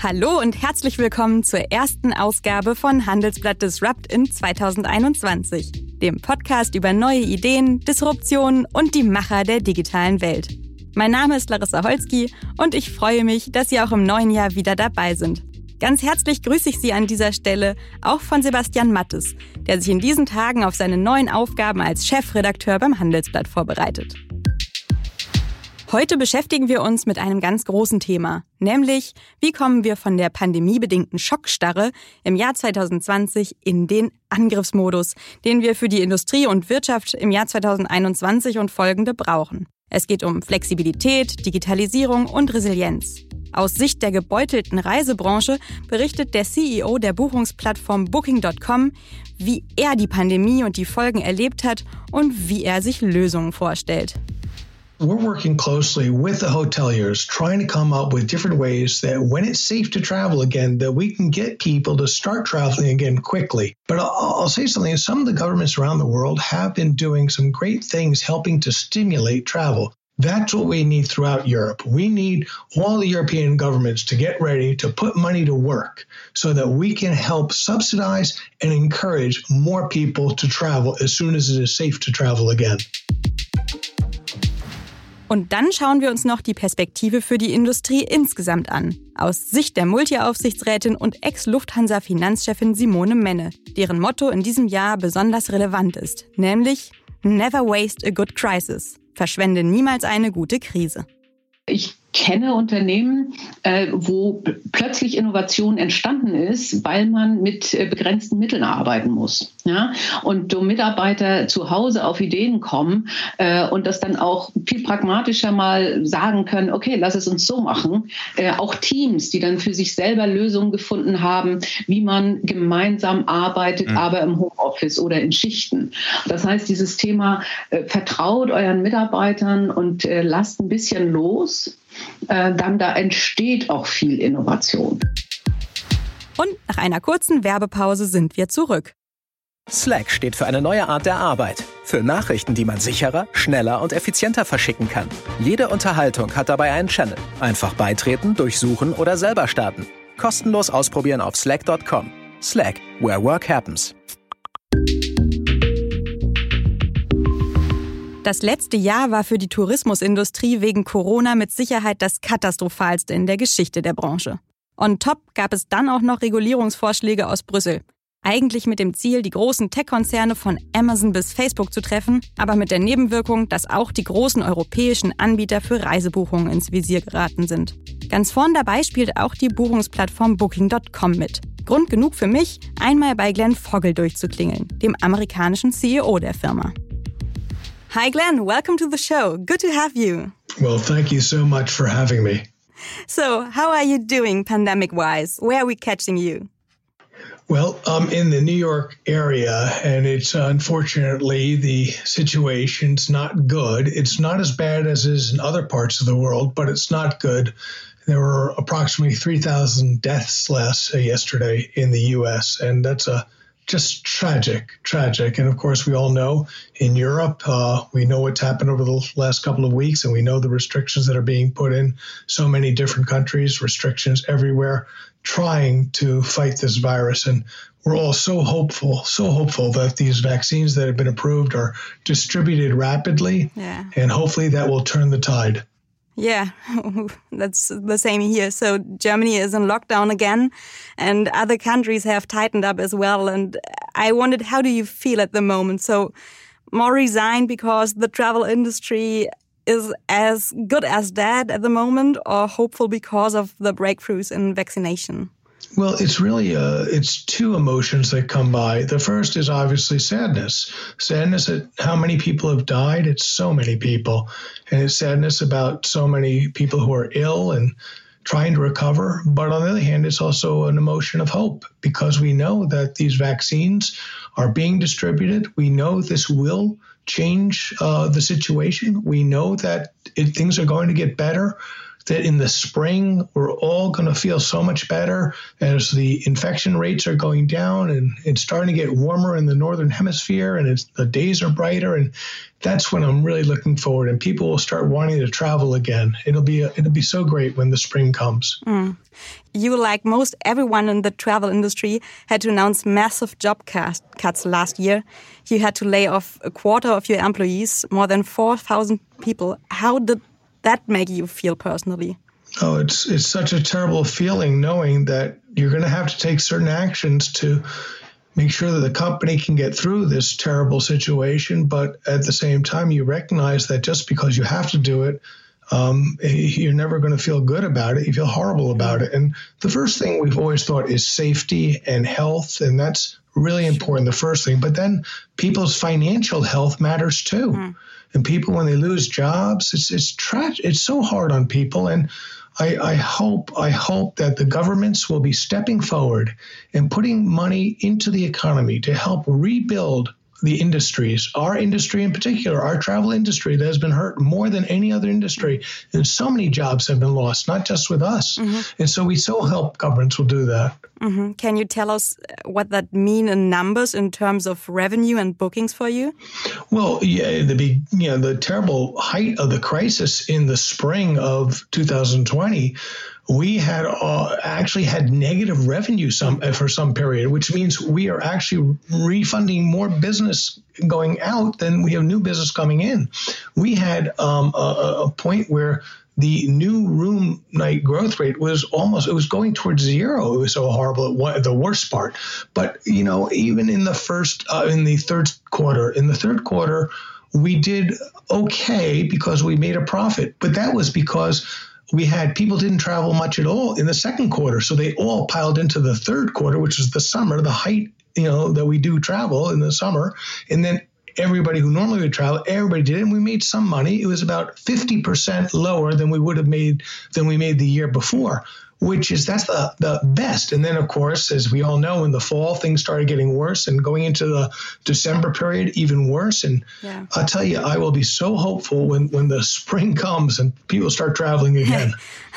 Hallo und herzlich willkommen zur ersten Ausgabe von Handelsblatt Disrupt in 2021, dem Podcast über neue Ideen, Disruptionen und die Macher der digitalen Welt. Mein Name ist Larissa Holzki und ich freue mich, dass Sie auch im neuen Jahr wieder dabei sind. Ganz herzlich grüße ich Sie an dieser Stelle auch von Sebastian Mattes, der sich in diesen Tagen auf seine neuen Aufgaben als Chefredakteur beim Handelsblatt vorbereitet. Heute beschäftigen wir uns mit einem ganz großen Thema, nämlich wie kommen wir von der pandemiebedingten Schockstarre im Jahr 2020 in den Angriffsmodus, den wir für die Industrie und Wirtschaft im Jahr 2021 und folgende brauchen. Es geht um Flexibilität, Digitalisierung und Resilienz. Aus Sicht der gebeutelten Reisebranche berichtet der CEO der Buchungsplattform Booking.com, wie er die Pandemie und die Folgen erlebt hat und wie er sich Lösungen vorstellt. We're working closely with the hoteliers, trying to come up with different ways that when it's safe to travel again, that we can get people to start traveling again quickly. But I'll say something, some of the governments around the world have been doing some great things helping to stimulate travel. That's what we need throughout Europe. We need all the European governments to get ready to put money to work so that we can help subsidize and encourage more people to travel as soon as it is safe to travel again. Und dann schauen wir uns noch die Perspektive für die Industrie insgesamt an. Aus Sicht der Multi-Aufsichtsrätin und Ex-Lufthansa-Finanzchefin Simone Menne, deren Motto in diesem Jahr besonders relevant ist, nämlich Never waste a good crisis. Verschwende niemals eine gute Krise. Ich kenne Unternehmen, wo plötzlich Innovation entstanden ist, weil man mit begrenzten Mitteln arbeiten muss. Ja? Und Mitarbeiter zu Hause auf Ideen kommen und das dann auch viel pragmatischer mal sagen können, okay, lass es uns so machen. Auch Teams, die dann für sich selber Lösungen gefunden haben, wie man gemeinsam arbeitet, aber im Homeoffice oder in Schichten. Das heißt, dieses Thema vertraut euren Mitarbeitern und lasst ein bisschen los. Dann da entsteht auch viel Innovation. Und nach einer kurzen Werbepause sind wir zurück. Slack steht für eine neue Art der Arbeit. Für Nachrichten, die man sicherer, schneller und effizienter verschicken kann. Jede Unterhaltung hat dabei einen Channel. Einfach beitreten, durchsuchen oder selber starten. Kostenlos ausprobieren auf slack.com. Slack, where work happens. Das letzte Jahr war für die Tourismusindustrie wegen Corona mit Sicherheit das katastrophalste in der Geschichte der Branche. On top gab es dann auch noch Regulierungsvorschläge aus Brüssel. Eigentlich mit dem Ziel, die großen Tech-Konzerne von Amazon bis Facebook zu treffen, aber mit der Nebenwirkung, dass auch die großen europäischen Anbieter für Reisebuchungen ins Visier geraten sind. Ganz vorn dabei spielt auch die Buchungsplattform Booking.com mit. Grund genug für mich, einmal bei Glenn Fogel durchzuklingeln, dem amerikanischen CEO der Firma. Hi Glenn, welcome to the show. Good to have you. Well, thank you so much for having me. So, how are you doing pandemic-wise? Where are we catching you? Well, I'm in the New York area, and it's unfortunately the situation's not good. It's not as bad as it is in other parts of the world, but it's not good. There were approximately 3,000 deaths less yesterday in the U.S., and that's just tragic. And of course, we all know in Europe, we know what's happened over the last couple of weeks, and we know the restrictions that are being put in so many different countries, restrictions everywhere, trying to fight this virus. And we're all so hopeful that these vaccines that have been approved are distributed rapidly. Yeah. And hopefully that will turn the tide. Yeah, that's the same here. So Germany is in lockdown again and other countries have tightened up as well. And I wondered, how do you feel at the moment? So more resigned because the travel industry is as good as dead at the moment, or hopeful because of the breakthroughs in vaccination? Well, it's really it's two emotions that come by. The first is obviously sadness. Sadness at how many people have died. It's so many people. And it's sadness about so many people who are ill and trying to recover. But on the other hand, it's also an emotion of hope because we know that these vaccines are being distributed. We know this will change the situation. We know that things are going to get better. that in the spring, we're all going to feel so much better as the infection rates are going down and it's starting to get warmer in the Northern Hemisphere and the days are brighter. And that's when I'm really looking forward and people will start wanting to travel again. It'll be so great when the spring comes. You, like most everyone in the travel industry, had to announce massive job cuts last year. You had to lay off a quarter of your employees, more than 4,000 people. How did that make you feel personally? Oh, it's such a terrible feeling knowing that you're going to have to take certain actions to make sure that the company can get through this terrible situation. But at the same time, you recognize that just because you have to do it, you're never going to feel good about it. You feel horrible about it. And the first thing we've always thought is safety and health. And that's really important, the first thing. But then people's financial health matters too. And people, when they lose jobs, it's tragic. It's so hard on people. And I hope that the governments will be stepping forward and putting money into the economy to help rebuild the industries, our industry in particular, our travel industry that has been hurt more than any other industry. And so many jobs have been lost, not just with us. And so we so hope governments will do that. Can you tell us what that mean in numbers in terms of revenue and bookings for you? Well, the terrible height of the crisis in the spring of 2020, we had actually had negative revenue for some period, which means we are actually refunding more business going out than we have new business coming in. We had a point where the new room night growth rate was going towards zero. It was so horrible, the worst part. But, even in the third quarter, we did okay because we made a profit. But that was because people didn't travel much at all in the second quarter. So they all piled into the third quarter, which is the summer, the height, that we do travel in the summer. And then everybody who normally would travel, everybody did it, and we made some money. It was about 50% lower than we made the year before, that's the best. And then, of course, as we all know, in the fall, things started getting worse, and going into the December period, even worse. And I'll tell you, I will be so hopeful when the spring comes and people start traveling again.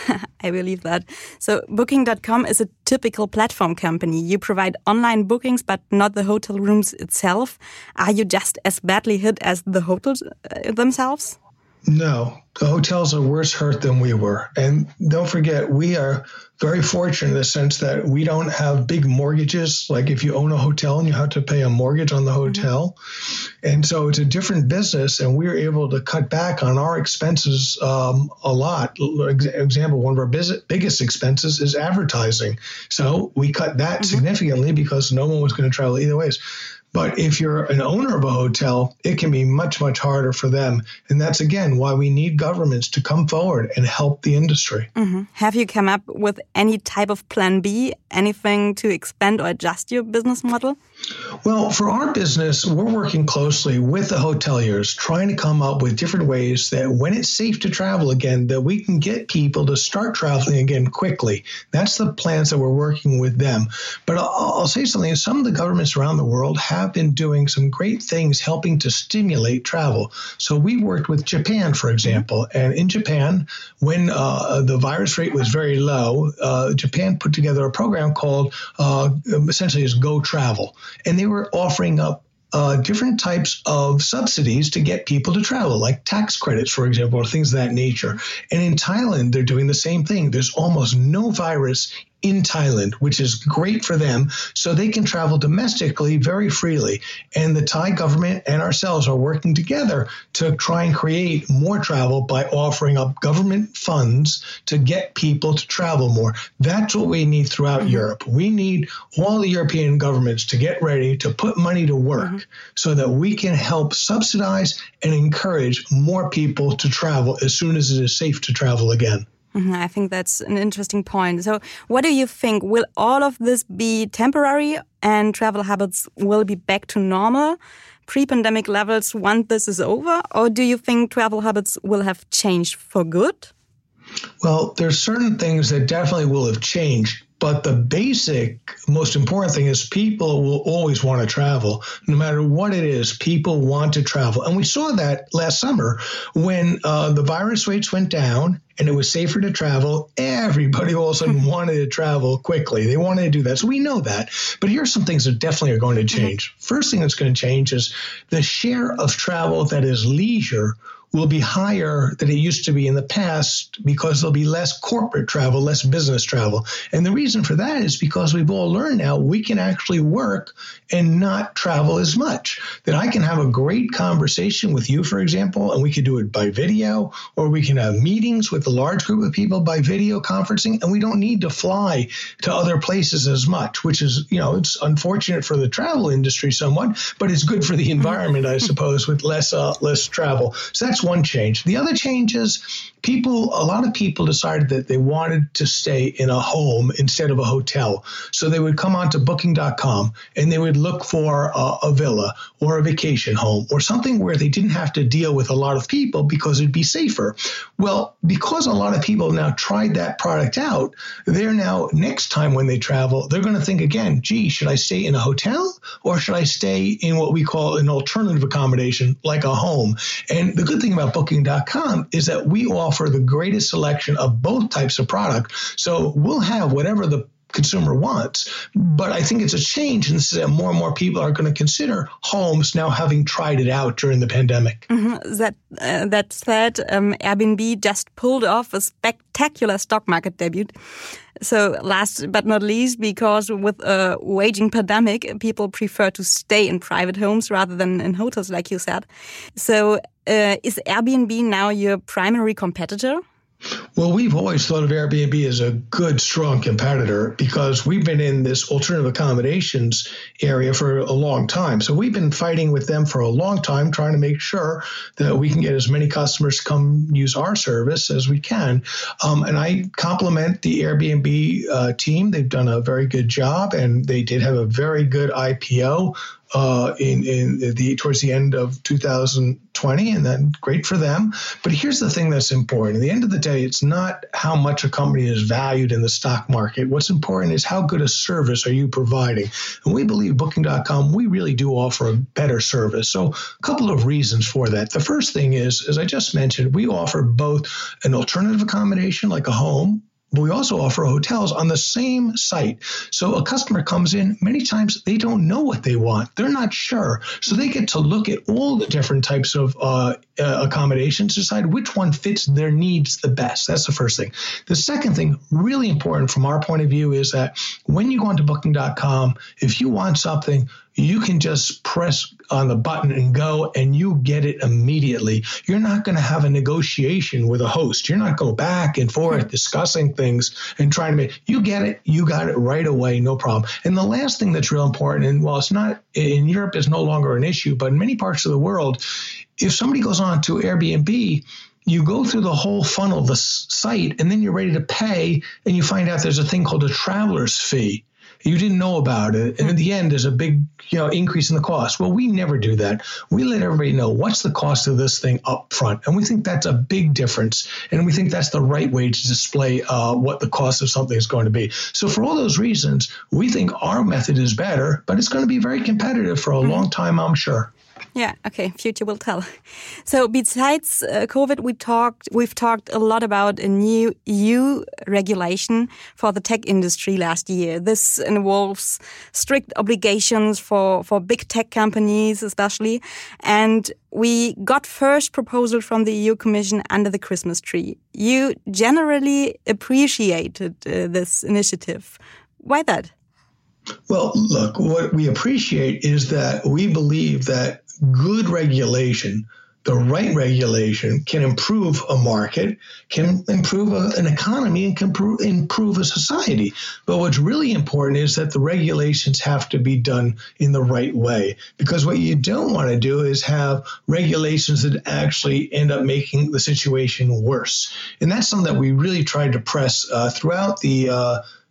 I believe that. So Booking.com is a typical platform company. You provide online bookings, but not the hotel rooms itself. Are you just as badly hit as the hotels themselves? No, the hotels are worse hurt than we were. And don't forget, we are very fortunate in the sense that we don't have big mortgages. Like if you own a hotel and you have to pay a mortgage on the hotel. And so it's a different business, and we're able to cut back on our expenses a lot. Example, one of our biggest expenses is advertising. So we cut that significantly because no one was going to travel either ways. But if you're an owner of a hotel, it can be much, much harder for them. And that's, again, why we need governments to come forward and help the industry. Have you come up with any type of plan B, anything to expand or adjust your business model? Well, for our business, we're working closely with the hoteliers, trying to come up with different ways that when it's safe to travel again, that we can get people to start traveling again quickly. That's the plans that we're working with them. But I'll say something. Some of the governments around the world have been doing some great things helping to stimulate travel. So we worked with Japan, for example. And in Japan, when the virus rate was very low, Japan put together a program called essentially is Go Travel. And they were offering up different types of subsidies to get people to travel, like tax credits, for example, or things of that nature. And in Thailand, they're doing the same thing. There's almost no virus in Thailand, which is great for them, so they can travel domestically very freely. And the Thai government and ourselves are working together to try and create more travel by offering up government funds to get people to travel more. That's what we need throughout Europe. We need all the European governments to get ready to put money to work so that we can help subsidize and encourage more people to travel as soon as it is safe to travel again. I think that's an interesting point. So what do you think? Will all of this be temporary and travel habits will be back to normal, pre-pandemic levels once this is over? Or do you think travel habits will have changed for good? Well, there's certain things that definitely will have changed. But the basic, most important thing is people will always want to travel. No matter what it is, people want to travel. And we saw that last summer when the virus rates went down and it was safer to travel. Everybody all of a sudden wanted to travel quickly. They wanted to do that. So we know that. But here are some things that definitely are going to change. First thing that's going to change is the share of travel that is leisure will be higher than it used to be in the past because there'll be less corporate travel, less business travel. And the reason for that is because we've all learned now we can actually work and not travel as much. That I can have a great conversation with you, for example, and we could do it by video, or we can have meetings with a large group of people by video conferencing, and we don't need to fly to other places as much, which is, it's unfortunate for the travel industry somewhat, but it's good for the environment, I suppose, with less travel. So that's one change. The other change is a lot of people decided that they wanted to stay in a home instead of a hotel. So they would come onto booking.com and they would look for a villa or a vacation home or something where they didn't have to deal with a lot of people because it'd be safer. Well, because a lot of people now tried that product out, they're now, next time when they travel, they're going to think again, gee, should I stay in a hotel or should I stay in what we call an alternative accommodation like a home? And the good thing about booking.com is that we offer the greatest selection of both types of product. So we'll have whatever the consumer wants. But I think it's a change, and this is that more and more people are going to consider homes now, having tried it out during the pandemic. That said, Airbnb just pulled off a spectacular stock market debut. So last but not least, because with a waging pandemic, people prefer to stay in private homes rather than in hotels, like you said. So is Airbnb now your primary competitor? Well, we've always thought of Airbnb as a good, strong competitor because we've been in this alternative accommodations area for a long time. So we've been fighting with them for a long time, trying to make sure that we can get as many customers to come use our service as we can. And I compliment the Airbnb team. They've done a very good job, and they did have a very good IPO towards the end of 2020, and then great for them. But here's the thing that's important. At the end of the day, it's not how much a company is valued in the stock market. What's important is how good a service are you providing. And we believe Booking.com, we really do offer a better service. So a couple of reasons for that. The first thing is, as I just mentioned, we offer both an alternative accommodation like a home, but we also offer hotels on the same site. So a customer comes in, many times they don't know what they want. They're not sure. So they get to look at all the different types of accommodations, decide which one fits their needs the best. That's the first thing. The second thing, really important from our point of view, is that when you go onto Booking.com, if you want something, you can just press on the button and go, and you get it immediately. You're not going to have a negotiation with a host. You're not going back and forth discussing things and trying to make, you get it, you got it right away, no problem. And the last thing that's real important, and while it's not in Europe, is no longer an issue, but in many parts of the world, if somebody goes on to Airbnb, you go through the whole funnel of the site, and then you're ready to pay, and you find out there's a thing called a traveler's fee. You didn't know about it. And in the end, there's a big, increase in the cost. Well, we never do that. We let everybody know what's the cost of this thing up front. And we think that's a big difference. And we think that's the right way to display what the cost of something is going to be. So for all those reasons, we think our method is better, but it's going to be very competitive for a long time, I'm sure. Yeah, okay, future will tell. So besides COVID, we've talked a lot about a new EU regulation for the tech industry last year. This involves strict obligations for big tech companies especially. And we got first proposal from the EU Commission under the Christmas tree. You generally appreciated this initiative. Why that? Well, look, what we appreciate is that we believe that good regulation, the right regulation, can improve a market, can improve an economy, and can improve a society. But what's really important is that the regulations have to be done in the right way. Because what you don't want to do is have regulations that actually end up making the situation worse. And that's something that we really tried to press throughout the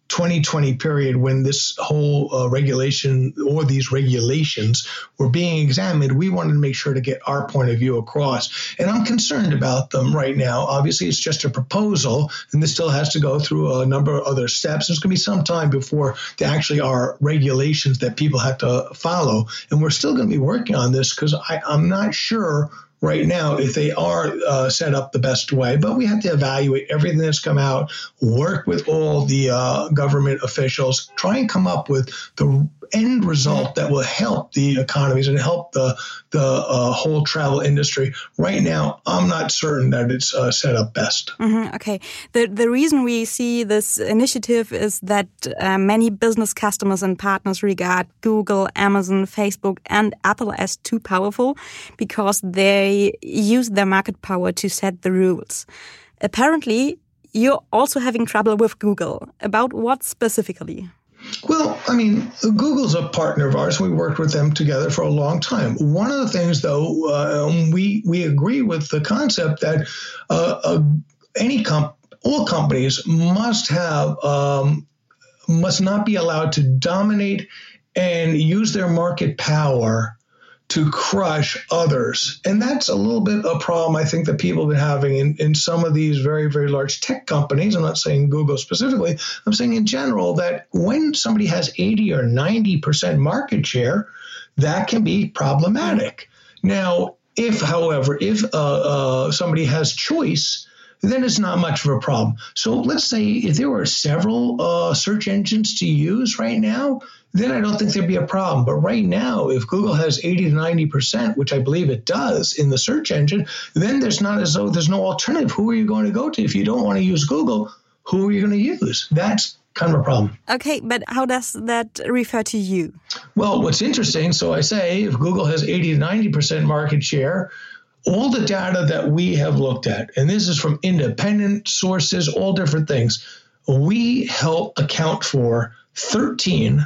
2020 period when this whole regulation or these regulations were being examined, we wanted to make sure to get our point of view across. And I'm concerned about them right now. Obviously, it's just a proposal, and this still has to go through a number of other steps. There's going to be some time before there actually are regulations that people have to follow. And we're still going to be working on this because I'm not sure right now if they are set up the best way, but we have to evaluate everything that's come out, work with all the government officials, try and come up with the end result that will help the economies and help the whole travel industry. Right now, I'm not certain that it's set up best. Mm-hmm. Okay. The reason we see this initiative is that many business customers and partners regard Google, Amazon, Facebook, and Apple as too powerful because they use their market power to set the rules. Apparently, you're also having trouble with Google. About what specifically? Well, I mean, Google's a partner of ours. We worked with them together for a long time. One of the things, though, we agree with the concept that all companies must not be allowed to dominate and use their market power to crush others. And that's a little bit a problem I think that people have been having in some of these very, very large tech companies. I'm not saying Google specifically. I'm saying in general that when somebody has 80 or 90% market share, that can be problematic. Now, if somebody has choice, then it's not much of a problem. So let's say if there were several search engines to use right now, then I don't think there'd be a problem. But right now, if Google has 80 to 90%, which I believe it does in the search engine, then there's not as though there's no alternative. Who are you going to go to? If you don't want to use Google, who are you going to use? That's kind of a problem. Okay, but how does that refer to you? Well, what's interesting, so I say if Google has 80 to 90% market share, all the data that we have looked at, and this is from independent sources, all different things, we help account for 13%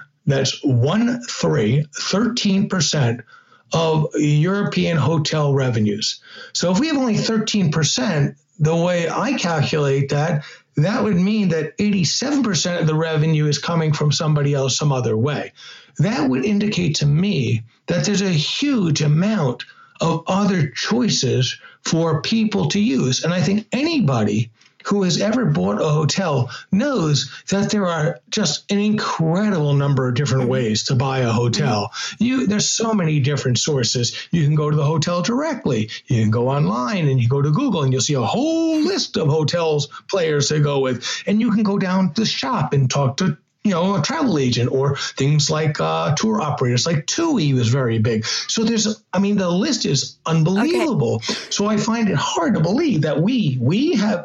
of European hotel revenues. So if we have only 13%, the way I calculate that would mean that 87% of the revenue is coming from somebody else some other way. That would indicate to me that there's a huge amount of other choices for people to use. And I think anybody who has ever bought a hotel knows that there are just an incredible number of different ways to buy a hotel. There's so many different sources. You can go to the hotel directly. You can go online and you go to Google and you'll see a whole list of hotels players to go with. And you can go down to the shop and talk to a travel agent or things like tour operators, like TUI was very big. So the list is unbelievable. Okay. So I find it hard to believe that we have,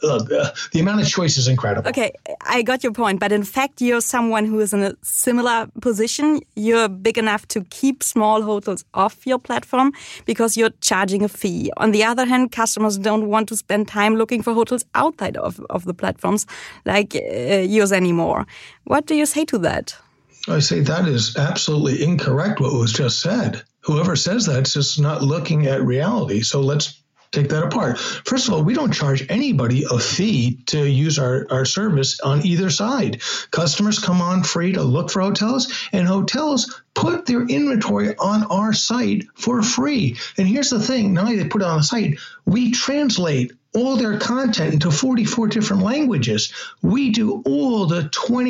the amount of choice is incredible. Okay, I got your point. But in fact, you're someone who is in a similar position. You're big enough to keep small hotels off your platform because you're charging a fee. On the other hand, customers don't want to spend time looking for hotels outside of the platforms like yours anymore. What do you say to that? I say that is absolutely incorrect, what was just said. Whoever says that's just not looking at reality. So let's take that apart. First of all, we don't charge anybody a fee to use our service on either side. Customers come on free to look for hotels, and hotels put their inventory on our site for free. And here's the thing, not only they put it on the site, we translate all their content into 44 different languages. We do all the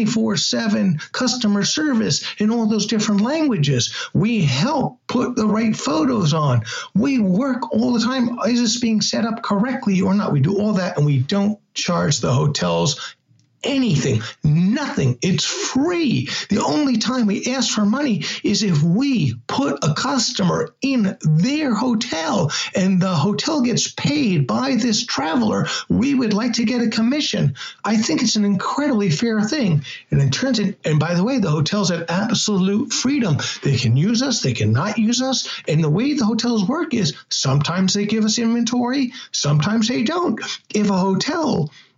24/7 customer service in all those different languages. We help put the right photos on. We work all the time. Is this being set up correctly or not? We do all that, and we don't charge the hotels anything, nothing. It's free. The only time we ask for money is if we put a customer in their hotel and the hotel gets paid by this traveler. We would like to get a commission. I think it's an incredibly fair thing. And and by the way, the hotels have absolute freedom. They can use us, they cannot use us. And the way the hotels work is sometimes they give us inventory, sometimes they don't. If a hotel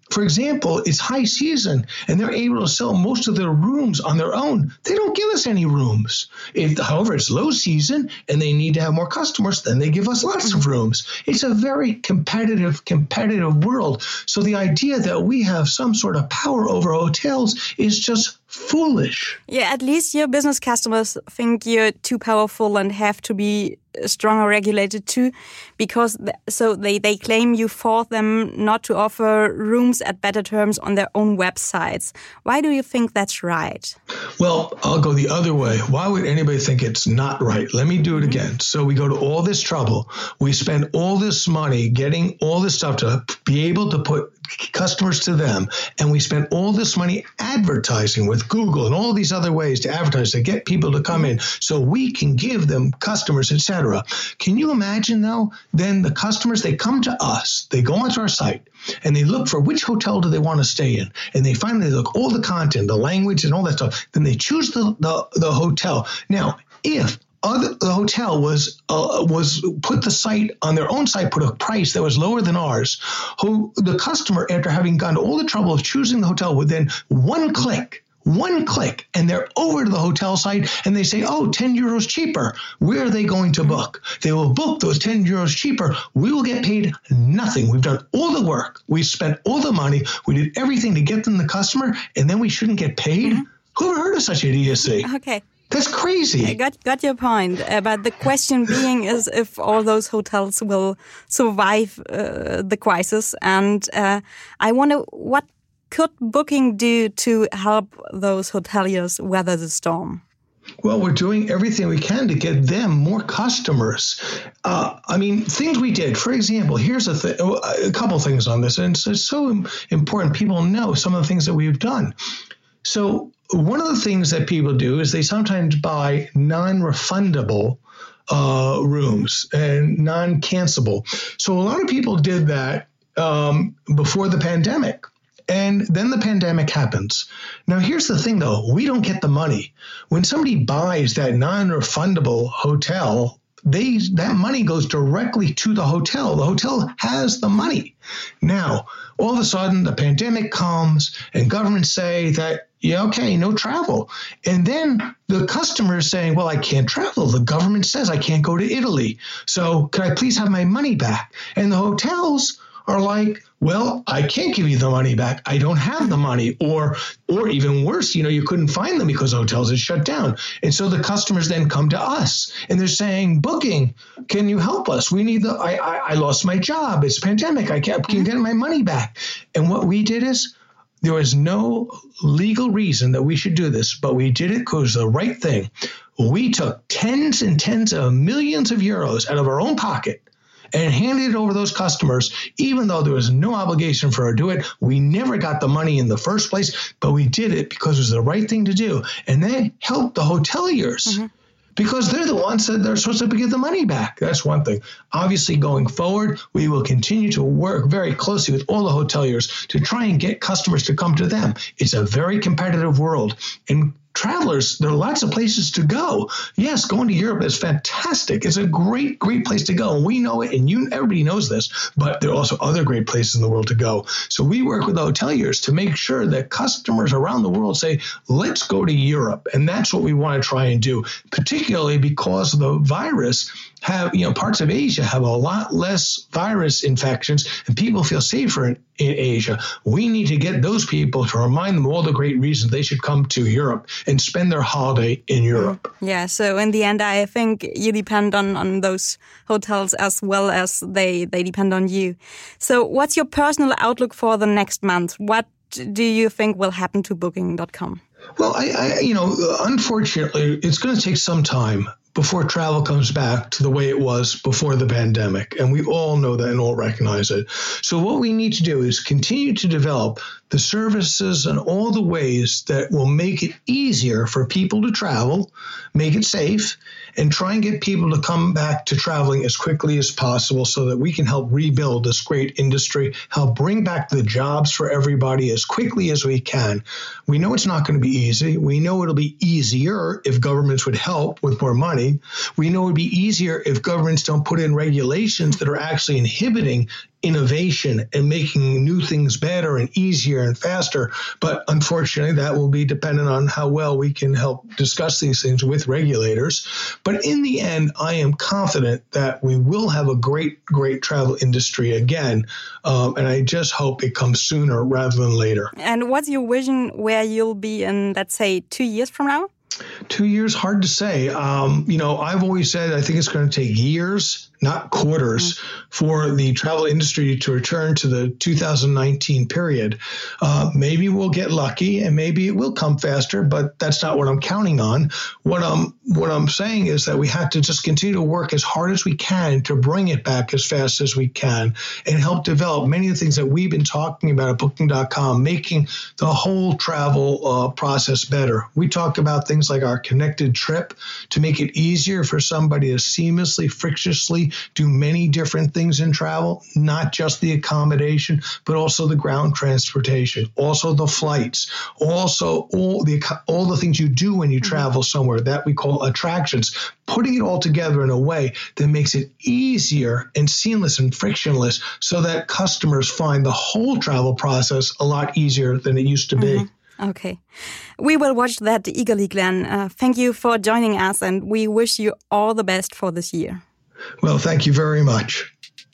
for example, it's high season and they're able to sell most of their rooms on their own. They don't give us any rooms. However, it's low season and they need to have more customers, then they give us lots of rooms. It's a very competitive world. So the idea that we have some sort of power over hotels is just foolish. Yeah, at least your business customers think you're too powerful and have to be stronger regulated too, because they claim you force them not to offer rooms at better terms on their own websites. Why do you think that's right? Well, I'll go the other way. Why would anybody think it's not right? Let me do it again. So we go to all this trouble. We spend all this money getting all this stuff to be able to put customers to them. And we spend all this money advertising with Google and all these other ways to advertise to get people to come in so we can give them customers, etc. Can you imagine, though, then the customers, they come to us, they go onto our site, and they look for which hotel do they want to stay in. And they finally look all the content, the language and all that stuff. Then they choose the hotel. Now, if the hotel was put the site on their own site, put a price that was lower than ours, the customer, after having gone to all the trouble of choosing the hotel, would then one click, and they're over to the hotel site and they say, 10 euros cheaper. Where are they going to book? They will book those 10 euros cheaper. We will get paid nothing. We've done all the work. We spent all the money. We did everything to get them the customer, and then we shouldn't get paid? Who ever heard of such idiocy? Okay. That's crazy. I got your point. But the question being is if all those hotels will survive the crisis. And I wonder, what could Booking do to help those hoteliers weather the storm? Well, we're doing everything we can to get them more customers. Things we did. For example, here's a couple things on this, and it's so important people know some of the things that we've done. So one of the things that people do is they sometimes buy non-refundable rooms and non-cancelable. So a lot of people did that before the pandemic. And then the pandemic happens. Now, here's the thing, though. We don't get the money. When somebody buys that non-refundable hotel, that money goes directly to the hotel. The hotel has the money. Now, all of a sudden, the pandemic comes and governments say that, no travel. And then the customer is saying, well, I can't travel. The government says I can't go to Italy. So can I please have my money back? And the hotels are like, well, I can't give you the money back. I don't have the money. Or even worse, you couldn't find them because hotels had shut down. And so the customers then come to us and they're saying, Booking, can you help us? We need I lost my job. It's a pandemic. I can't get my money back. And what we did is, there was no legal reason that we should do this, but we did it because it was the right thing. We took tens and tens of millions of euros out of our own pocket and handed it over to those customers, even though there was no obligation for us to do it. We never got the money in the first place, but we did it because it was the right thing to do. And they helped the hoteliers because they're the ones that they're supposed to give the money back. That's one thing. Obviously, going forward, we will continue to work very closely with all the hoteliers to try and get customers to come to them. It's a very competitive world. And travelers, there are lots of places to go. Yes, going to Europe is fantastic. It's a great, great place to go. And we know it, and everybody knows this, but there are also other great places in the world to go. So we work with the hoteliers to make sure that customers around the world say, let's go to Europe. And that's what we want to try and do, particularly because the virus parts of Asia have a lot less virus infections and people feel safer in Asia. We need to get those people to remind them all the great reasons they should come to Europe and spend their holiday in Europe. Yeah, so in the end, I think you depend on those hotels as well as they depend on you. So what's your personal outlook for the next month? What do you think will happen to Booking.com? Well, unfortunately, it's going to take some time before travel comes back to the way it was before the pandemic. And we all know that and all recognize it. So what we need to do is continue to develop the services and all the ways that will make it easier for people to travel, make it safe, and try and get people to come back to traveling as quickly as possible so that we can help rebuild this great industry, help bring back the jobs for everybody as quickly as we can. We know it's not going to be easy. We know it'll be easier if governments would help with more money. money. We know it would be easier if governments don't put in regulations that are actually inhibiting innovation and making new things better and easier and faster. But unfortunately, that will be dependent on how well we can help discuss these things with regulators. But in the end, I am confident that we will have a great travel industry again. And I just hope it comes sooner rather than later. And what's your vision where you'll be in, let's say, 2 years from now? 2 years, hard to say. I've always said I think it's going to take years, not quarters, for the travel industry to return to the 2019 period. Maybe we'll get lucky and maybe it will come faster, but that's not what I'm counting on. What I'm saying is that we have to just continue to work as hard as we can to bring it back as fast as we can and help develop many of the things that we've been talking about at Booking.com, making the whole travel process better. We talk about things like our connected trip to make it easier for somebody to seamlessly, frictionlessly do many different things in travel, not just the accommodation, but also the ground transportation, also the flights, also all the things you do when you travel somewhere that we call attractions, putting it all together in a way that makes it easier and seamless and frictionless so that customers find the whole travel process a lot easier than it used to be. Okay. We will watch that eagerly, Glenn. Thank you for joining us and we wish you all the best for this year. Well, thank you very much.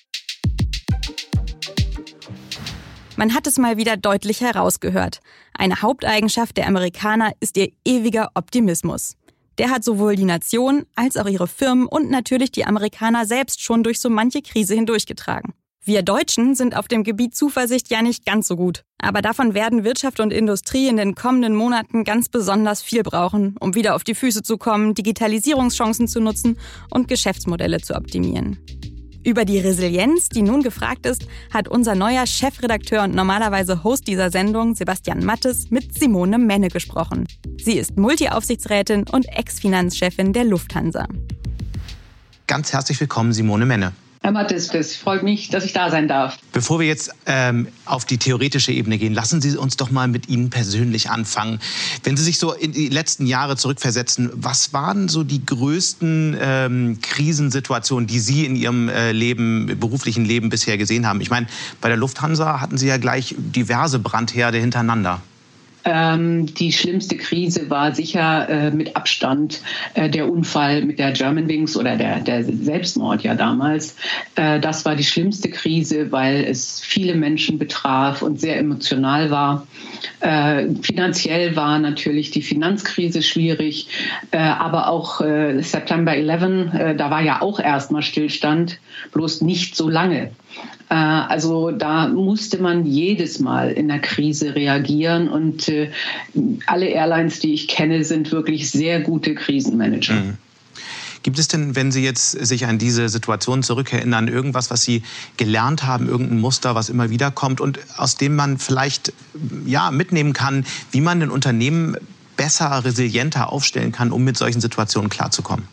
Man hat es mal wieder deutlich herausgehört. Eine Haupteigenschaft der Amerikaner ist ihr ewiger Optimismus. Der hat sowohl die Nation als auch ihre Firmen und natürlich die Amerikaner selbst schon durch so manche Krise hindurchgetragen. Wir Deutschen sind auf dem Gebiet Zuversicht ja nicht ganz so gut. Aber davon werden Wirtschaft und Industrie in den kommenden Monaten ganz besonders viel brauchen, um wieder auf die Füße zu kommen, Digitalisierungschancen zu nutzen und Geschäftsmodelle zu optimieren. Über die Resilienz, die nun gefragt ist, hat unser neuer Chefredakteur und normalerweise Host dieser Sendung, Sebastian Mattes, mit Simone Menne gesprochen. Sie ist Multi-Aufsichtsrätin und Ex-Finanzchefin der Lufthansa. Ganz herzlich willkommen, Simone Menne. Herr Mattes, es freut mich, dass ich da sein darf. Bevor wir jetzt auf die theoretische Ebene gehen, lassen Sie uns doch mal mit Ihnen persönlich anfangen. Wenn Sie sich so in die letzten Jahre zurückversetzen, was waren so die größten Krisensituationen, die Sie in Ihrem beruflichen Leben bisher gesehen haben? Ich meine, bei der Lufthansa hatten Sie ja gleich diverse Brandherde hintereinander. Die schlimmste Krise war sicher mit Abstand der Unfall mit der Germanwings oder der Selbstmord ja damals. Das war die schlimmste Krise, weil es viele Menschen betraf und sehr emotional war. Finanziell war natürlich die Finanzkrise schwierig, aber auch September 11, da war ja auch erstmal Stillstand, bloß nicht so lange. Also da musste man jedes Mal in der Krise reagieren und alle Airlines, die ich kenne, sind wirklich sehr gute Krisenmanager. Mhm. Gibt es denn, wenn Sie jetzt sich an diese Situation zurückerinnern, irgendwas, was Sie gelernt haben, irgendein Muster, was immer wieder kommt und aus dem man vielleicht mitnehmen kann, wie man ein Unternehmen besser, resilienter aufstellen kann, um mit solchen Situationen klarzukommen?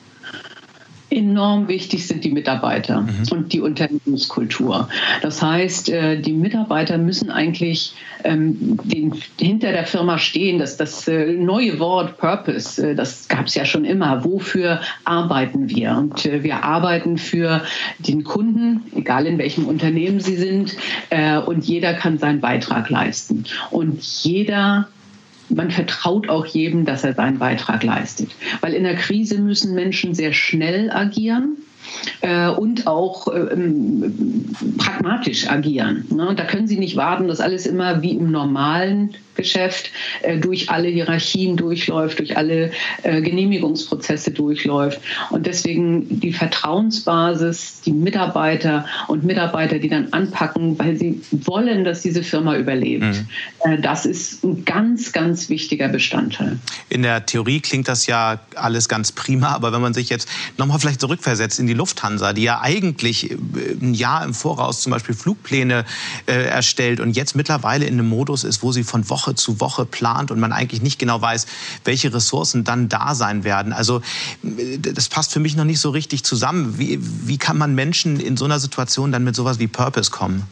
Enorm wichtig sind die Mitarbeiter und die Unternehmenskultur. Das heißt, die Mitarbeiter müssen eigentlich hinter der Firma stehen. Das neue Wort Purpose, das gab es ja schon immer. Wofür arbeiten wir? Und wir arbeiten für den Kunden, egal in welchem Unternehmen sie sind. Und jeder kann seinen Beitrag leisten. Und man vertraut auch jedem, dass er seinen Beitrag leistet. Weil in der Krise müssen Menschen sehr schnell agieren und auch pragmatisch agieren. Und da können sie nicht warten, dass alles immer wie im normalen Geschäft durch alle Hierarchien durchläuft, durch alle Genehmigungsprozesse durchläuft. Und deswegen die Vertrauensbasis, die Mitarbeiter und Mitarbeiter, die dann anpacken, weil sie wollen, dass diese Firma überlebt. Das ist ein ganz, ganz wichtiger Bestandteil. In der Theorie klingt das ja alles ganz prima, aber wenn man sich jetzt nochmal vielleicht zurückversetzt in die Lufthansa, die ja eigentlich ein Jahr im Voraus zum Beispiel Flugpläne erstellt und jetzt mittlerweile in einem Modus ist, wo sie von Woche zu Woche plant und man eigentlich nicht genau weiß, welche Ressourcen dann da sein werden. Also das passt für mich noch nicht so richtig zusammen. Wie kann man Menschen in so einer Situation dann mit sowas wie Purpose kommen?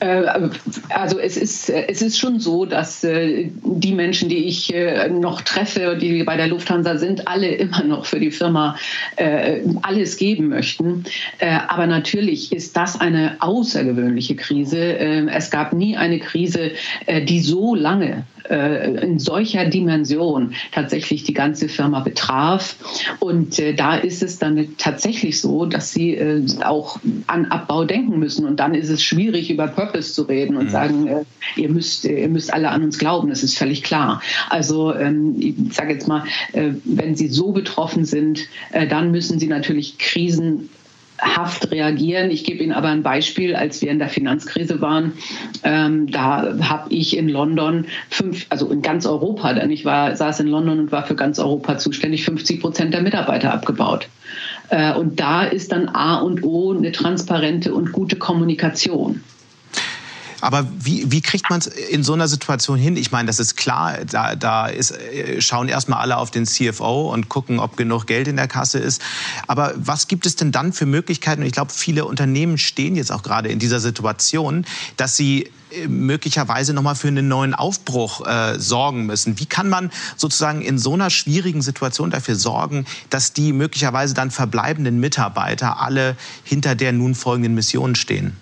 Also es ist schon so, dass die Menschen, die ich noch treffe, die bei der Lufthansa sind, alle immer noch für die Firma alles geben möchten. Aber natürlich ist das eine außergewöhnliche Krise. Es gab nie eine Krise, die so lange in solcher Dimension tatsächlich die ganze Firma betraf. Und da ist es dann tatsächlich so, dass sie auch an Abbau denken müssen. Und dann ist es schwierig, über Purpose zu reden und sagen, ihr müsst alle an uns glauben. Das ist völlig klar. Also ich sage jetzt mal, wenn sie so betroffen sind, dann müssen sie natürlich krisenhaft reagieren. Ich gebe Ihnen aber ein Beispiel, als wir in der Finanzkrise waren, da habe ich in London also in ganz Europa, denn ich saß in London und war für ganz Europa zuständig, 50% der Mitarbeiter abgebaut. Und da ist dann A und O eine transparente und gute Kommunikation. Aber wie kriegt man es in so einer Situation hin? Ich meine, das ist klar, schauen erstmal alle auf den CFO und gucken, ob genug Geld in der Kasse ist. Aber was gibt es denn dann für Möglichkeiten? Und ich glaube, viele Unternehmen stehen jetzt auch gerade in dieser Situation, dass sie möglicherweise nochmal für einen neuen Aufbruch sorgen müssen. Wie kann man sozusagen in so einer schwierigen Situation dafür sorgen, dass die möglicherweise dann verbleibenden Mitarbeiter alle hinter der nun folgenden Mission stehen?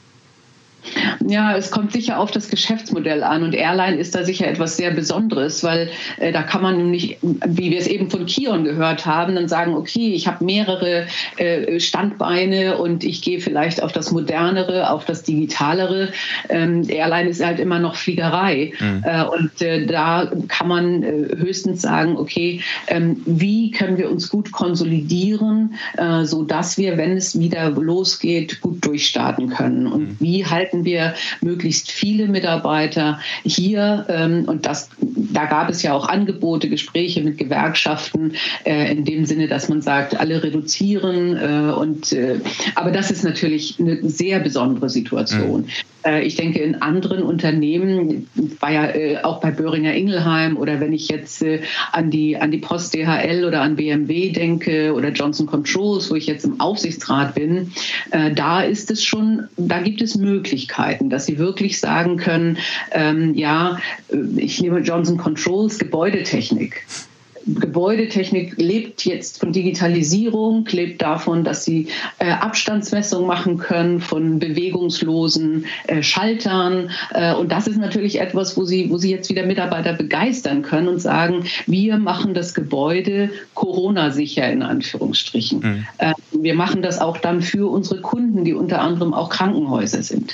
Ja, es kommt sicher auf das Geschäftsmodell an und Airline ist da sicher etwas sehr Besonderes, weil da kann man nämlich, wie wir es eben von Kion gehört haben, dann sagen, okay, ich habe mehrere Standbeine und ich gehe vielleicht auf das Modernere, auf das Digitalere. Airline ist halt immer noch Fliegerei und da kann man höchstens sagen, okay, wie können wir uns gut konsolidieren, sodass wir, wenn es wieder losgeht, gut durchstarten können und wie halten wir möglichst viele Mitarbeiter hier und da gab es ja auch Angebote, Gespräche mit Gewerkschaften in dem Sinne, dass man sagt, alle reduzieren aber das ist natürlich eine sehr besondere Situation. Ich denke, in anderen Unternehmen, war ja auch bei Boehringer Ingelheim oder wenn ich jetzt an die Post DHL oder an BMW denke oder Johnson Controls, wo ich jetzt im Aufsichtsrat bin, da gibt es Möglichkeiten, dass sie wirklich sagen können, ich nehme Johnson Controls, Gebäudetechnik. Gebäudetechnik lebt jetzt von Digitalisierung, lebt davon, dass sie Abstandsmessung machen können von bewegungslosen Schaltern. Und das ist natürlich etwas, wo sie jetzt wieder Mitarbeiter begeistern können und sagen, wir machen das Gebäude Corona-sicher in Anführungsstrichen. Wir machen das auch dann für unsere Kunden, die unter anderem auch Krankenhäuser sind.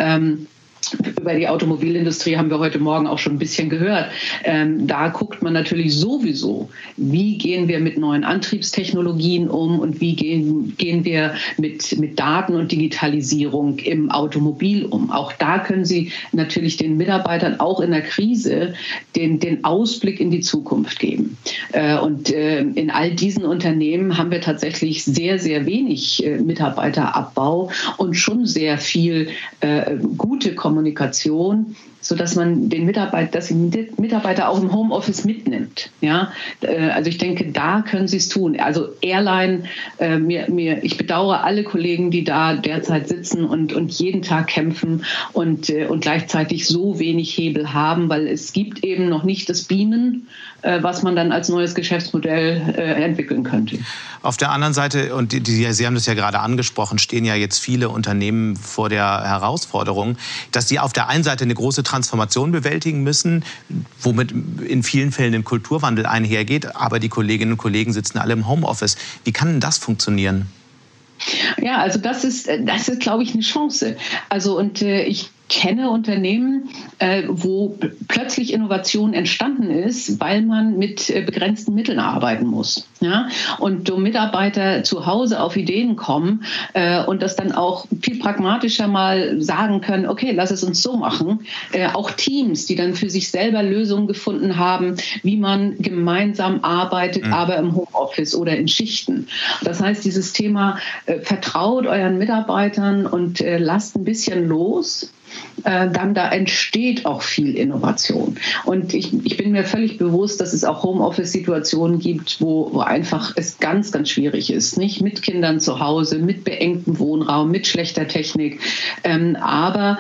Über die Automobilindustrie haben wir heute Morgen auch schon ein bisschen gehört. Da guckt man natürlich sowieso, wie gehen wir mit neuen Antriebstechnologien um und wie gehen wir mit Daten und Digitalisierung im Automobil um. Auch da können Sie natürlich den Mitarbeitern auch in der Krise den Ausblick in die Zukunft geben. Und in all diesen Unternehmen haben wir tatsächlich sehr, sehr wenig Mitarbeiterabbau und schon sehr viel gute Kommunikation, sodass man die Mitarbeiter auch im Homeoffice mitnimmt. Ja? Also ich denke, da können sie es tun. Also Airline, ich bedauere alle Kollegen, die da derzeit sitzen und jeden Tag kämpfen und gleichzeitig so wenig Hebel haben, weil es gibt eben noch nicht das Beamen, was man dann als neues Geschäftsmodell entwickeln könnte. Auf der anderen Seite, und Sie haben das ja gerade angesprochen, stehen ja jetzt viele Unternehmen vor der Herausforderung, dass sie auf der einen Seite eine große Transformation bewältigen müssen, womit in vielen Fällen ein Kulturwandel einhergeht, aber die Kolleginnen und Kollegen sitzen alle im Homeoffice. Wie kann denn das funktionieren? Ja, also das ist, glaube ich, eine Chance. Also und ich kenne Unternehmen, wo plötzlich Innovation entstanden ist, weil man mit begrenzten Mitteln arbeiten muss. Ja? Und so Mitarbeiter zu Hause auf Ideen kommen und das dann auch viel pragmatischer mal sagen können, okay, lass es uns so machen. Auch Teams, die dann für sich selber Lösungen gefunden haben, wie man gemeinsam arbeitet, aber im Homeoffice oder in Schichten. Das heißt, dieses Thema vertraut euren Mitarbeitern und lasst ein bisschen los. dann da entsteht auch viel Innovation. Und ich bin mir völlig bewusst, dass es auch Homeoffice-Situationen gibt, wo einfach es ganz, ganz schwierig ist. Nicht mit Kindern zu Hause, mit beengtem Wohnraum, mit schlechter Technik. Aber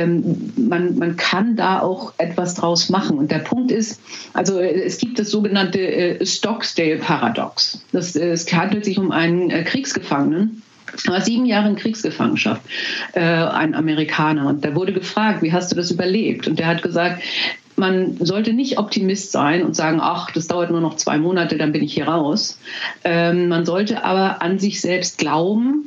man kann da auch etwas draus machen. Und der Punkt ist, also es gibt das sogenannte Stocksdale-Paradox. Es handelt sich um einen Kriegsgefangenen. Er war 7 Jahre in Kriegsgefangenschaft, ein Amerikaner. Und der wurde gefragt, wie hast du das überlebt? Und der hat gesagt, man sollte nicht Optimist sein und sagen, ach, das dauert nur noch 2 Monate, dann bin ich hier raus. Man sollte aber an sich selbst glauben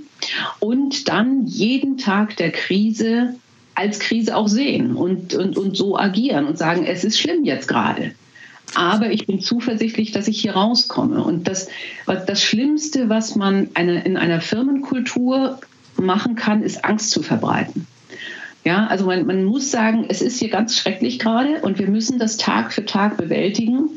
und dann jeden Tag der Krise als Krise auch sehen und so agieren und sagen, es ist schlimm jetzt gerade. Aber ich bin zuversichtlich, dass ich hier rauskomme. Und das Schlimmste, was man in einer Firmenkultur machen kann, ist Angst zu verbreiten. Ja, also man muss sagen, es ist hier ganz schrecklich gerade und wir müssen das Tag für Tag bewältigen.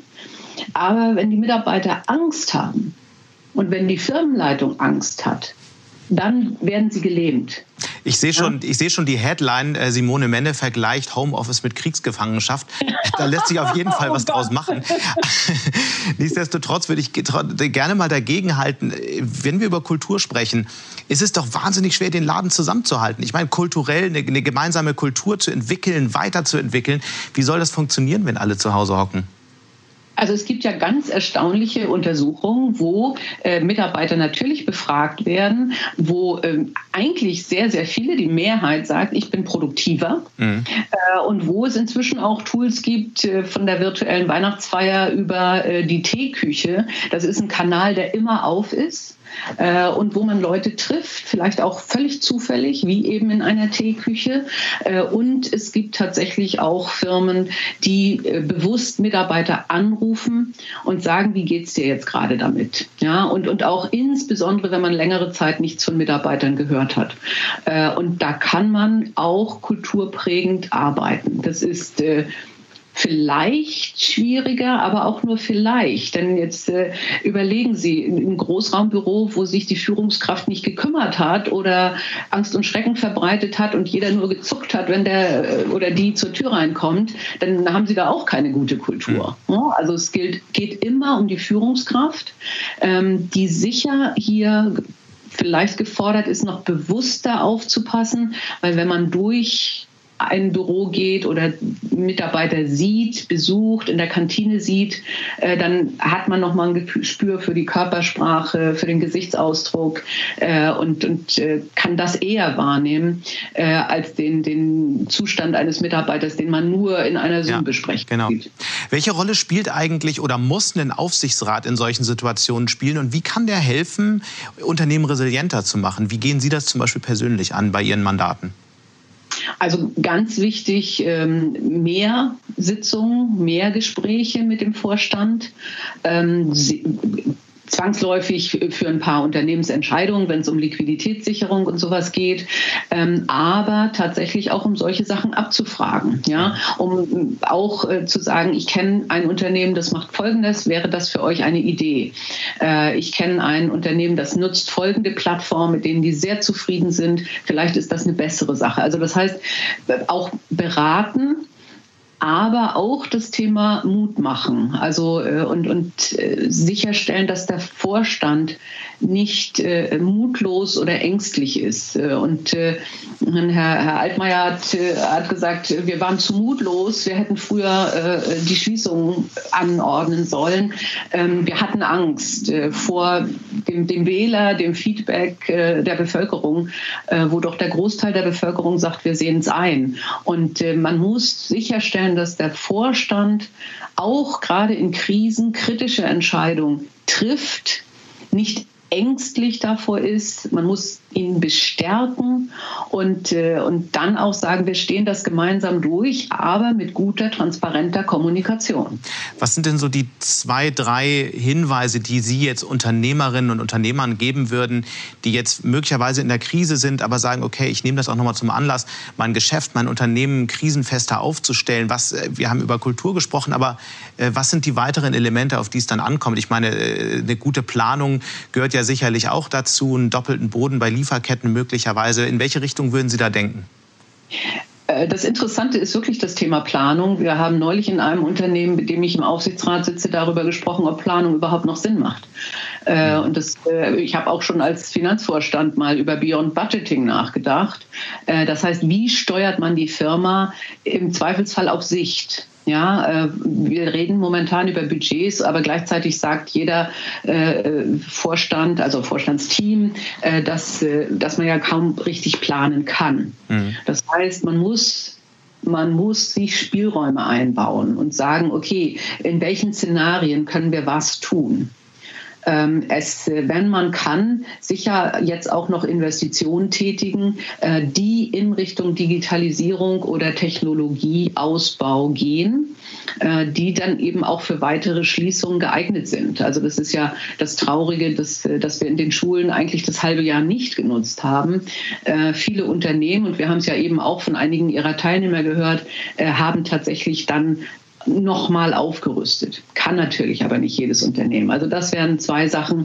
Aber wenn die Mitarbeiter Angst haben und wenn die Firmenleitung Angst hat, dann werden sie gelähmt. Ich sehe schon die Headline, Simone Menne vergleicht Homeoffice mit Kriegsgefangenschaft. Da lässt sich auf jeden Fall was draus machen. Nichtsdestotrotz würde ich gerne mal dagegen halten, wenn wir über Kultur sprechen, ist es doch wahnsinnig schwer, den Laden zusammenzuhalten. Ich meine, kulturell eine gemeinsame Kultur zu entwickeln, weiterzuentwickeln. Wie soll das funktionieren, wenn alle zu Hause hocken? Also es gibt ja ganz erstaunliche Untersuchungen, wo Mitarbeiter natürlich befragt werden, wo eigentlich sehr, sehr viele, die Mehrheit sagt, ich bin produktiver. Und wo es inzwischen auch Tools gibt, von der virtuellen Weihnachtsfeier über die Teeküche. Das ist ein Kanal, der immer auf ist. Und wo man Leute trifft, vielleicht auch völlig zufällig, wie eben in einer Teeküche. Und es gibt tatsächlich auch Firmen, die bewusst Mitarbeiter anrufen und sagen, wie geht's dir jetzt gerade damit? Ja, und auch insbesondere, wenn man längere Zeit nichts von Mitarbeitern gehört hat. Und da kann man auch kulturprägend arbeiten. Das ist vielleicht schwieriger, aber auch nur vielleicht. Denn jetzt überlegen Sie, im Großraumbüro, wo sich die Führungskraft nicht gekümmert hat oder Angst und Schrecken verbreitet hat und jeder nur gezuckt hat, wenn der oder die zur Tür reinkommt, dann haben Sie da auch keine gute Kultur. Also es geht immer um die Führungskraft, die sicher hier vielleicht gefordert ist, noch bewusster aufzupassen, weil wenn man durch ein Büro geht oder Mitarbeiter sieht, besucht, in der Kantine sieht, dann hat man noch mal ein Gespür für die Körpersprache, für den Gesichtsausdruck und kann das eher wahrnehmen als den Zustand eines Mitarbeiters, den man nur in einer Zoom-Besprechung sieht. Welche Rolle spielt eigentlich oder muss ein Aufsichtsrat in solchen Situationen spielen und wie kann der helfen, Unternehmen resilienter zu machen? Wie gehen Sie das zum Beispiel persönlich an bei Ihren Mandaten? Also ganz wichtig, mehr Sitzungen, mehr Gespräche mit dem Vorstand. Zwangsläufig für ein paar Unternehmensentscheidungen, wenn es um Liquiditätssicherung und sowas geht, aber tatsächlich auch um solche Sachen abzufragen, ja, um auch zu sagen, ich kenne ein Unternehmen, das macht Folgendes, wäre das für euch eine Idee? Ich kenne ein Unternehmen, das nutzt folgende Plattformen, mit denen die sehr zufrieden sind, vielleicht ist das eine bessere Sache. Also das heißt, auch beraten, aber auch das Thema Mut machen, also und sicherstellen, dass der Vorstand nicht mutlos oder ängstlich ist. Und Herr Altmaier hat gesagt, wir waren zu mutlos, wir hätten früher die Schließung anordnen sollen. Wir hatten Angst vor dem Wähler, dem Feedback der Bevölkerung, wo doch der Großteil der Bevölkerung sagt, wir sehen es ein. Und man muss sicherstellen, dass der Vorstand auch gerade in Krisen kritische Entscheidungen trifft, nicht ängstlich davor ist. Man muss ihn bestärken und dann auch sagen, wir stehen das gemeinsam durch, aber mit guter, transparenter Kommunikation. Was sind denn so die 2, 3 Hinweise, die Sie jetzt Unternehmerinnen und Unternehmern geben würden, die jetzt möglicherweise in der Krise sind, aber sagen, okay, ich nehme das auch nochmal zum Anlass, mein Geschäft, mein Unternehmen krisenfester aufzustellen. Wir haben über Kultur gesprochen, aber was sind die weiteren Elemente, auf die es dann ankommt? Ich meine, eine gute Planung gehört ja sicherlich auch dazu, einen doppelten Boden bei Lieferketten möglicherweise. In welche Richtung würden Sie da denken? Das Interessante ist wirklich das Thema Planung. Wir haben neulich in einem Unternehmen, mit dem ich im Aufsichtsrat sitze, darüber gesprochen, ob Planung überhaupt noch Sinn macht. Ich habe auch schon als Finanzvorstand mal über Beyond Budgeting nachgedacht. Das heißt, wie steuert man die Firma im Zweifelsfall auf Sicht? Ja, wir reden momentan über Budgets, aber gleichzeitig sagt jeder Vorstand, also Vorstandsteam, dass man ja kaum richtig planen kann. Mhm. Das heißt, man muss sich Spielräume einbauen und sagen, okay, in welchen Szenarien können wir was tun? Wenn man kann, sicher jetzt auch noch Investitionen tätigen, die in Richtung Digitalisierung oder Technologieausbau gehen, die dann eben auch für weitere Schließungen geeignet sind. Also das ist ja das Traurige, dass wir in den Schulen eigentlich das halbe Jahr nicht genutzt haben. Viele Unternehmen, und wir haben es ja eben auch von einigen ihrer Teilnehmer gehört, haben tatsächlich dann nochmal aufgerüstet. Kann natürlich aber nicht jedes Unternehmen. Also das wären zwei Sachen.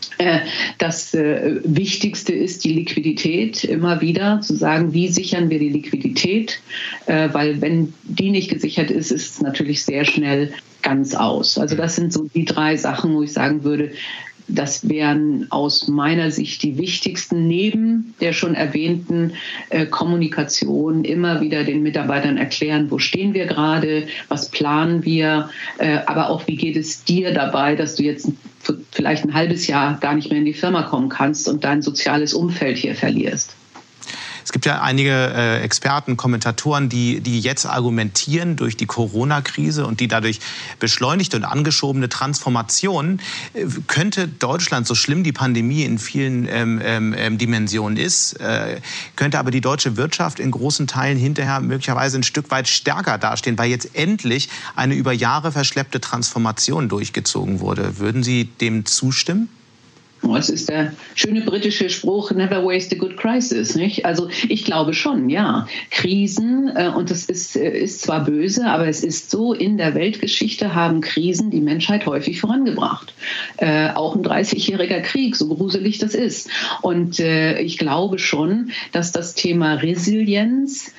Das Wichtigste ist die Liquidität, immer wieder zu sagen, wie sichern wir die Liquidität, weil wenn die nicht gesichert ist, ist es natürlich sehr schnell ganz aus. Also das sind so die drei Sachen, wo ich sagen würde, das wären aus meiner Sicht die wichtigsten, neben der schon erwähnten Kommunikation, immer wieder den Mitarbeitern erklären, wo stehen wir gerade, was planen wir, aber auch wie geht es dir dabei, dass du jetzt vielleicht ein halbes Jahr gar nicht mehr in die Firma kommen kannst und dein soziales Umfeld hier verlierst. Es gibt ja einige Experten, Kommentatoren, die jetzt argumentieren, durch die Corona-Krise und die dadurch beschleunigte und angeschobene Transformation könnte Deutschland, so schlimm die Pandemie in vielen Dimensionen ist, könnte aber die deutsche Wirtschaft in großen Teilen hinterher möglicherweise ein Stück weit stärker dastehen, weil jetzt endlich eine über Jahre verschleppte Transformation durchgezogen wurde. Würden Sie dem zustimmen? Das ist der schöne britische Spruch, never waste a good crisis, nicht? Also ich glaube schon, ja. Krisen, und das ist zwar böse, aber es ist so, in der Weltgeschichte haben Krisen die Menschheit häufig vorangebracht. Auch ein 30-jähriger Krieg, so gruselig das ist. Und ich glaube schon, dass das Thema Resilienz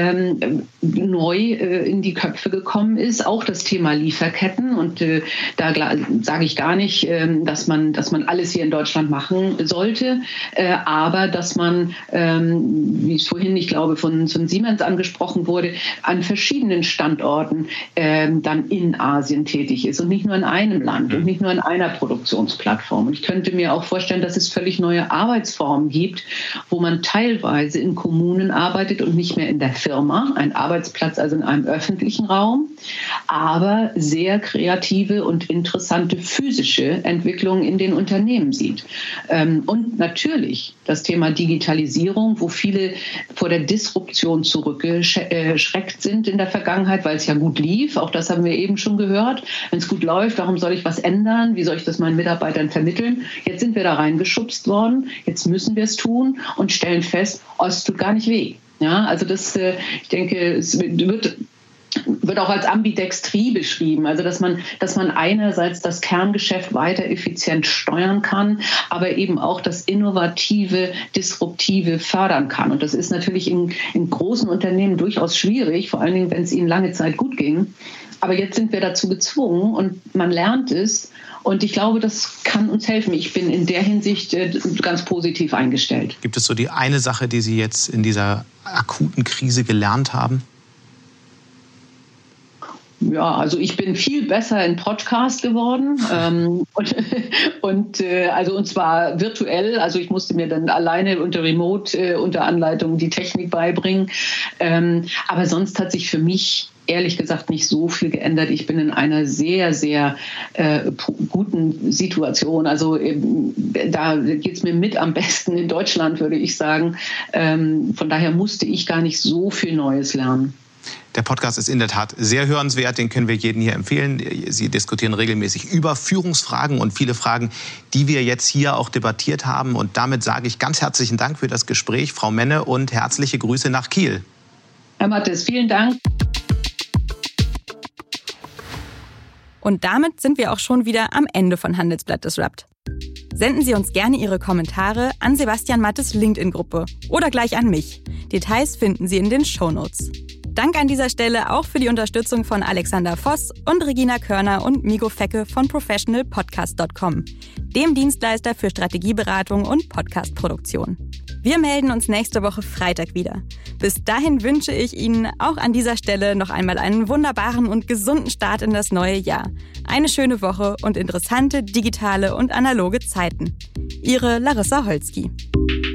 neu in die Köpfe gekommen ist. Auch das Thema Lieferketten. Und da sage ich gar nicht, dass man alles hier in Deutschland machen sollte, aber dass man, wie es vorhin, ich glaube, von Siemens angesprochen wurde, an verschiedenen Standorten dann in Asien tätig ist und nicht nur in einem Land und nicht nur in einer Produktionsplattform. Und ich könnte mir auch vorstellen, dass es völlig neue Arbeitsformen gibt, wo man teilweise in Kommunen arbeitet und nicht mehr in der Firma, ein Arbeitsplatz also in einem öffentlichen Raum, aber sehr kreative und interessante physische Entwicklungen in den Unternehmen sieht. Und natürlich das Thema Digitalisierung, wo viele vor der Disruption zurückgeschreckt sind in der Vergangenheit, weil es ja gut lief. Auch das haben wir eben schon gehört. Wenn es gut läuft, warum soll ich was ändern? Wie soll ich das meinen Mitarbeitern vermitteln? Jetzt sind wir da reingeschubst worden. Jetzt müssen wir es tun und stellen fest, es tut gar nicht weh. Ja, also ich denke, es wird auch als Ambidextrie beschrieben, also dass man einerseits das Kerngeschäft weiter effizient steuern kann, aber eben auch das Innovative, Disruptive fördern kann. Und das ist natürlich in großen Unternehmen durchaus schwierig, vor allen Dingen, wenn es ihnen lange Zeit gut ging. Aber jetzt sind wir dazu gezwungen und man lernt es. Und ich glaube, das kann uns helfen. Ich bin in der Hinsicht ganz positiv eingestellt. Gibt es so die eine Sache, die Sie jetzt in dieser akuten Krise gelernt haben? Ja, also ich bin viel besser in Podcast geworden und zwar virtuell. Also ich musste mir dann alleine unter Remote, unter Anleitung die Technik beibringen. Aber sonst hat sich für mich ehrlich gesagt nicht so viel geändert. Ich bin in einer sehr, sehr guten Situation. Also da geht es mir mit am besten in Deutschland, würde ich sagen. Von daher musste ich gar nicht so viel Neues lernen. Der Podcast ist in der Tat sehr hörenswert, den können wir jedem hier empfehlen. Sie diskutieren regelmäßig über Führungsfragen und viele Fragen, die wir jetzt hier auch debattiert haben. Und damit sage ich ganz herzlichen Dank für das Gespräch, Frau Menne, und herzliche Grüße nach Kiel. Herr Mattes, vielen Dank. Und damit sind wir auch schon wieder am Ende von Handelsblatt Disrupt. Senden Sie uns gerne Ihre Kommentare an Sebastian Mattes LinkedIn-Gruppe oder gleich an mich. Details finden Sie in den Shownotes. Dank an dieser Stelle auch für die Unterstützung von Alexander Voss und Regina Körner und Migo Fecke von professionalpodcast.com, dem Dienstleister für Strategieberatung und Podcastproduktion. Wir melden uns nächste Woche Freitag wieder. Bis dahin wünsche ich Ihnen auch an dieser Stelle noch einmal einen wunderbaren und gesunden Start in das neue Jahr. Eine schöne Woche und interessante digitale und analoge Zeiten. Ihre Larissa Holzki.